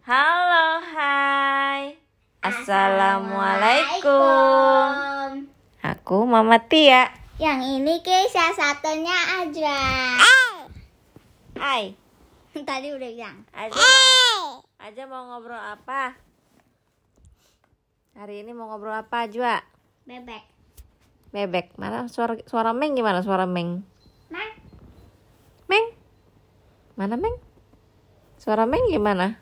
Halo, hai. Assalamualaikum. Aku Mama Tia. Yang ini kisah satunya aja. Hai. Tadi udah bilang. Aja mau ngobrol apa? Hari ini mau ngobrol apa, Jua? Bebek. Bebek. Mana suara Meng gimana? Suara Meng. Mang. Meng. Mana Meng? Suara Meng gimana?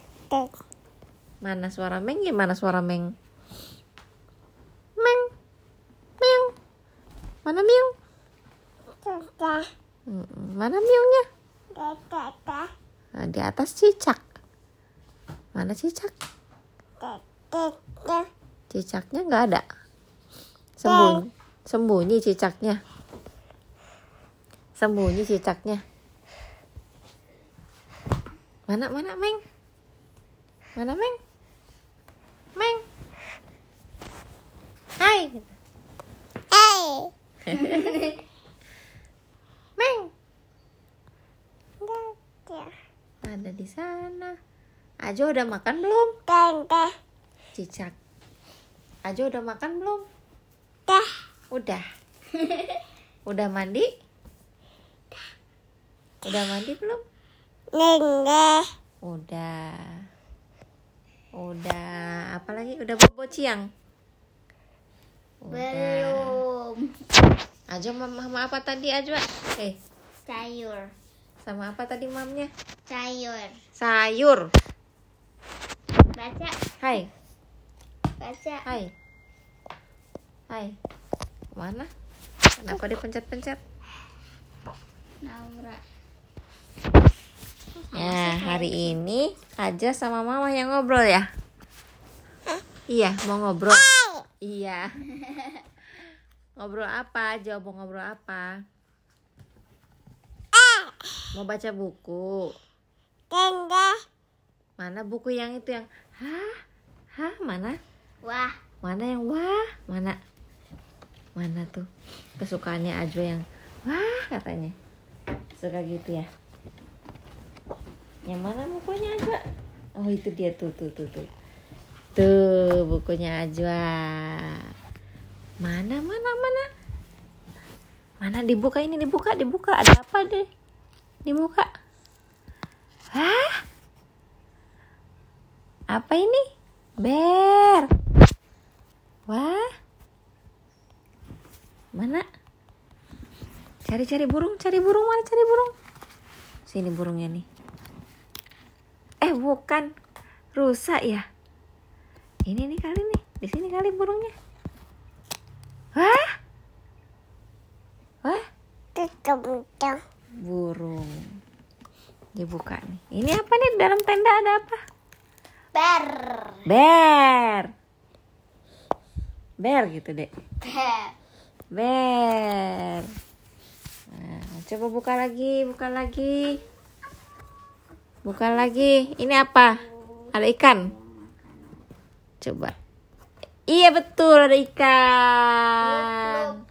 Mana suara Meng gimana suara Meng? Meng. Meong. Mana Meong? Mana Meongnya? Nah, di atas cicak. Mana cicak? Cicaknya nggak ada. Sembunyi cicaknya. Sembunyi cicaknya. Mana Meng? Mana Meng? Meng. Hai. Meng. Ada di sana. Ajo udah makan belum? Cicak. Ajo udah makan belum? Udah. Udah mandi? Udah mandi belum? Udah. Apa lagi? Udah bobo ciang? Belum. Ajo mama apa tadi Ajo? Sayur. Sama apa tadi mamnya? Sayur. Sayur. Baca. Hai. Baca. Hai. Mana? Kenapa dipencet-pencet? Naura. Ya, hari ini Aja sama Mama yang ngobrol ya? Iya, mau ngobrol. Iya. Ngobrol apa? Aja mau ngobrol apa? Mau baca buku. Mana buku yang itu yang hah, mana? Wah. Mana yang wah? Mana tuh? Kesukaannya Ajo yang wah katanya. Suka gitu ya. Yang mana bukunya Ajwa? Oh itu dia tuh. Tuh bukunya Ajwa. Mana? Mana dibuka ini dibuka. Ada apa deh? Dibuka. Hah? Apa ini? Bear. Wah. Mana? Cari burung. Mana cari burung? Sini burungnya nih. Bukan, rusa ya. Ini nih kali nih, di sini kali burungnya. Wah, burung. Dibuka nih. Ini apa nih dalam tenda ada apa? Bear gitu deh. Bear. Nah, coba buka lagi. Ini apa? Ada ikan. Coba. Iya betul ada ikan.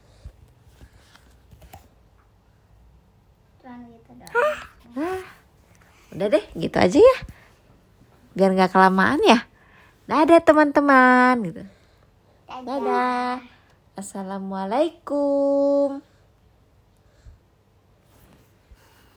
Udah deh, gitu aja ya. Biar nggak kelamaan ya. Dadah teman-teman gitu. Dadah. Assalamualaikum.